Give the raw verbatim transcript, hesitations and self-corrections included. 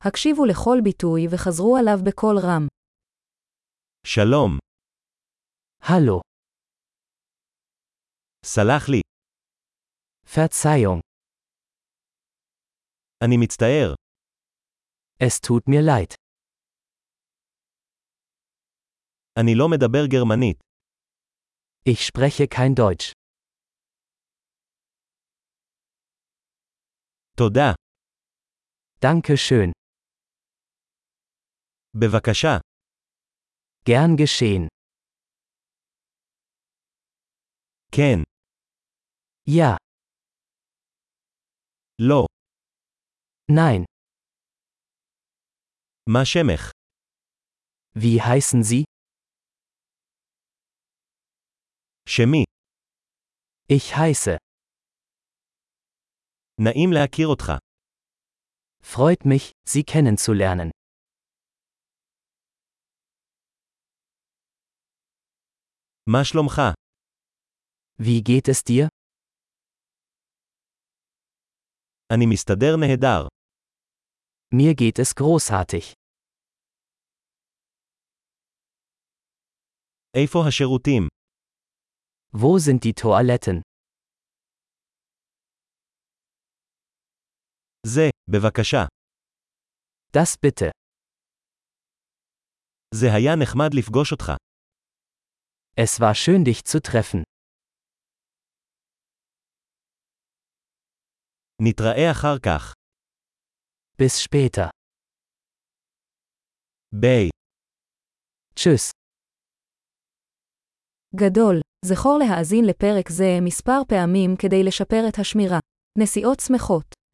הקשיבו לכל ביטוי וחזרו עליו בקול רם. שלום. Hallo. סלח לי. Verzeihung. אני מצטער. Es tut mir leid. אני לא מדבר גרמנית. Ich spreche kein Deutsch. תודה. Danke schön. בבקשה. Gern geschehen. כן. Ja. לא. Nein. מה שמך? Wie heißen Sie? שמי. Ich heiße. נעים להכיר אותך. Freut mich, Sie kennenzulernen. מה שלומך? Wie geht es dir? אני מסתדר נהדר. Mir geht es großartig. איפה השירותים? Wo sind die Toiletten? זה, בבקשה. Das bitte. זה היה נחמד לפגוש אותך. Es war schön, dich zu treffen. נתראה אחר כך. Bis später. ביי. Tschüss. גדול, זכור להאזין לפרק זה מספר פעמים כדי לשפר את השמירה. נסיעות שמחות.